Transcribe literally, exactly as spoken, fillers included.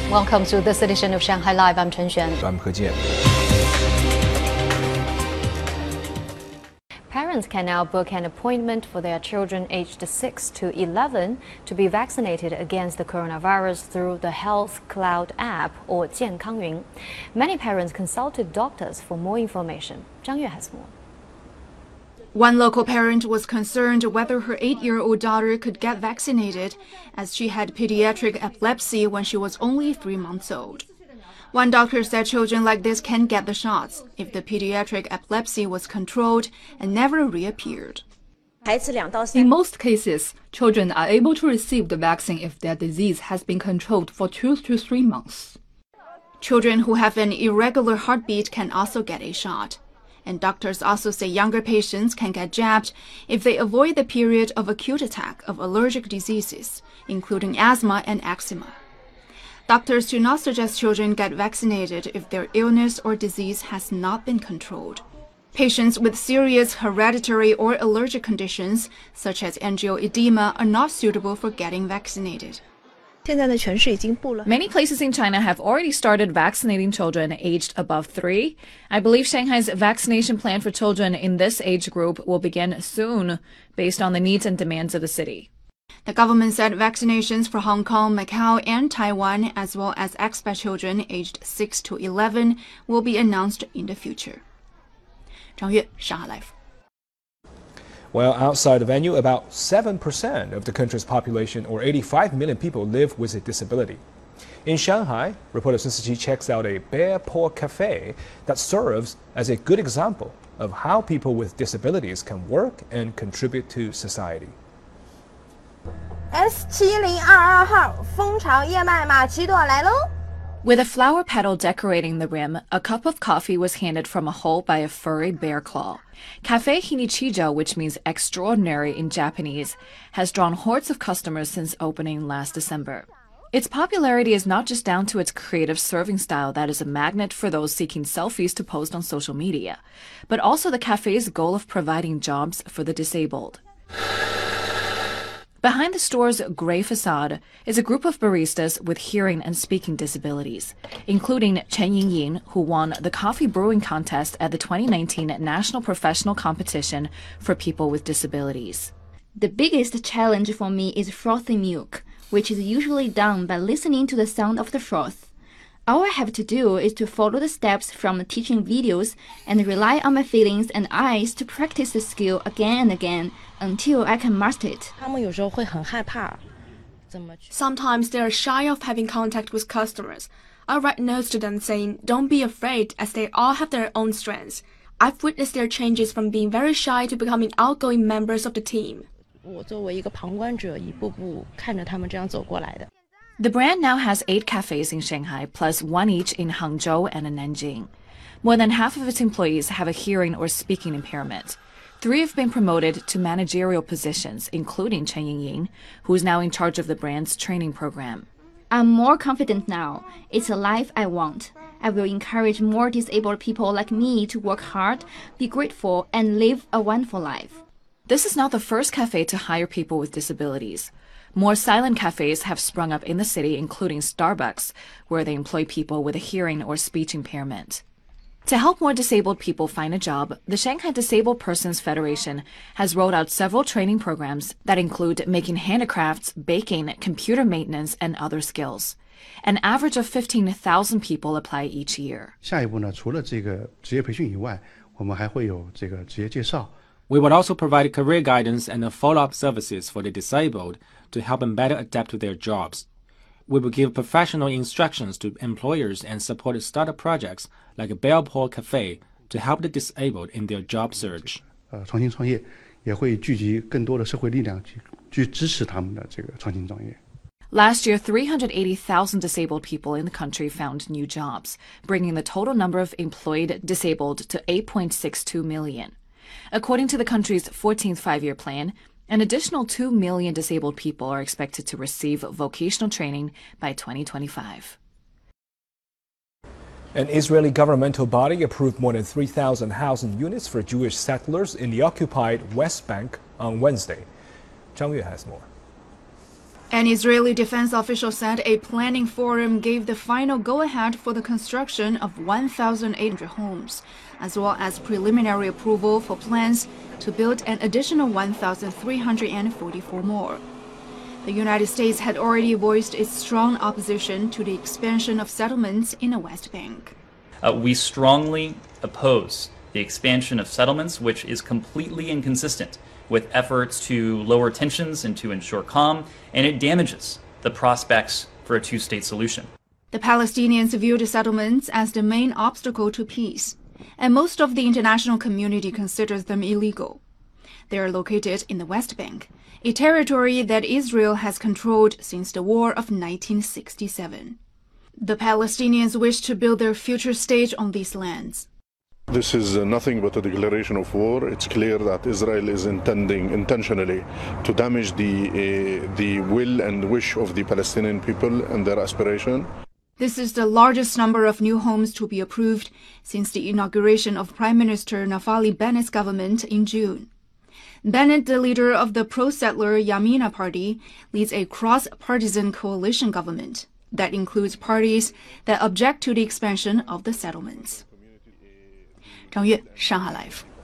Welcome to this edition of Shanghai Live. I'm Chen Xuan. I'm He Jian. Parents can now book an appointment for their children aged six to eleven to be vaccinated against the coronavirus through the Health Cloud app or 健康云. Many parents consulted doctors for more information. Zhang Yue has more. One local parent was concerned whether her eight-year-old daughter could get vaccinated, as she had pediatric epilepsy when she was only three months old. One doctor said children like this can get the shots if the pediatric epilepsy was controlled and never reappeared. In most cases, children are able to receive the vaccine if their disease has been controlled for two to three months. Children who have an irregular heartbeat can also get a shot. And doctors also say younger patients can get jabbed if they avoid the period of acute attack of allergic diseases, including asthma and eczema. Doctors do not suggest children get vaccinated if their illness or disease has not been controlled. Patients with serious hereditary or allergic conditions, such as angioedema, are not suitable for getting vaccinated. Many places in China have already started vaccinating children aged above three. I believe Shanghai's vaccination plan for children in this age group will begin soon, based on the needs and demands of the city. The government said vaccinations for Hong Kong, Macau, and Taiwan, as well as expat children aged six to eleven, will be announced in the future. Zhang Yue, Shanghai Live. Well, outside the venue, about seven percent of the country's population, or eighty-five million people, live with a disability. In Shanghai, reporter Sun Siqi checks out a bear paw cafe that serves as a good example of how people with disabilities can work and contribute to society. S 七零二二号蜂巢燕麦玛奇朵来喽。 With a flower petal decorating the rim, a cup of coffee was handed from a hole by a furry bear claw. Cafe Hinichijo, which means extraordinary in Japanese, has drawn hordes of customers since opening last December. Its popularity is not just down to its creative serving style that is a magnet for those seeking selfies to post on social media, but also the cafe's goal of providing jobs for the disabled. Behind the store's gray facade is a group of baristas with hearing and speaking disabilities, including Chen Yingying, who won the coffee brewing contest at the twenty nineteen National Professional Competition for People with Disabilities. The biggest challenge for me is frothing milk, which is usually done by listening to the sound of the froth. All I have to do is to follow the steps from teaching videos and rely on my feelings and eyes to practice the skill again and again until I can master it. Sometimes they are shy of having contact with customers. I write notes to them saying, don't be afraid, as they all have their own strengths. I've witnessed their changes from being very shy to becoming outgoing members of the team. The brand now has eight cafes in Shanghai, plus one each in Hangzhou and in Nanjing. More than half of its employees have a hearing or speaking impairment. Three have been promoted to managerial positions, including Chen Yingying, who is now in charge of the brand's training program. I'm more confident now. It's a life I want. I will encourage more disabled people like me to work hard, be grateful, and live a wonderful life. This is not the first cafe to hire people with disabilities. More silent cafes have sprung up in the city, including Starbucks, where they employ people with a hearing or speech impairment. To help more disabled people find a job, the Shanghai Disabled Persons Federation has rolled out several training programs that include making handicrafts, baking, computer maintenance, and other skills. An average of fifteen thousand people apply each year. 下一步呢，除了这个职业培训以外，我们还会有这个职业介绍。 We will also provide career guidance and follow-up services for the disabled to help them better adapt to their jobs. We will give professional instructions to employers and support startup projects like a Bear Paw Cafe to help the disabled in their job search. 呃，创新创业也会聚集更多的社会力量去去支持他们的这个创新创业。 Last year, three hundred eighty thousand disabled people in the country found new jobs, bringing the total number of employed disabled to eight point six two million. According to the country's fourteenth five-year plan, an additional two million disabled people are expected to receive vocational training by twenty twenty-five. An Israeli governmental body approved more than three thousand housing units for Jewish settlers in the occupied West Bank on Wednesday. Zhang Yue has more. An Israeli defense official said a planning forum gave the final go-ahead for the construction of one thousand eight hundred homes, as well as preliminary approval for plans to build an additional one thousand three hundred forty-four more. The United States had already voiced its strong opposition to the expansion of settlements in the West Bank. Uh, we strongly oppose the expansion of settlements, which is completely inconsistent with efforts to lower tensions and to ensure calm, and it damages the prospects for a two-state solution. The Palestinians view the settlements as the main obstacle to peace, and most of the international community considers them illegal. They are located in the West Bank, a territory that Israel has controlled since the War of nineteen sixty-seven. The Palestinians wish to build their future state on these lands. This is uh, nothing but a declaration of war. It's clear that Israel is intending intentionally to damage the, uh, the will and wish of the Palestinian people and their aspiration. This is the largest number of new homes to be approved since the inauguration of Prime Minister Naftali Bennett's government in June. Bennett, the leader of the pro-settler Yamina Party, leads a cross-partisan coalition government that includes parties that object to the expansion of the settlements. 张悦，上海 Live。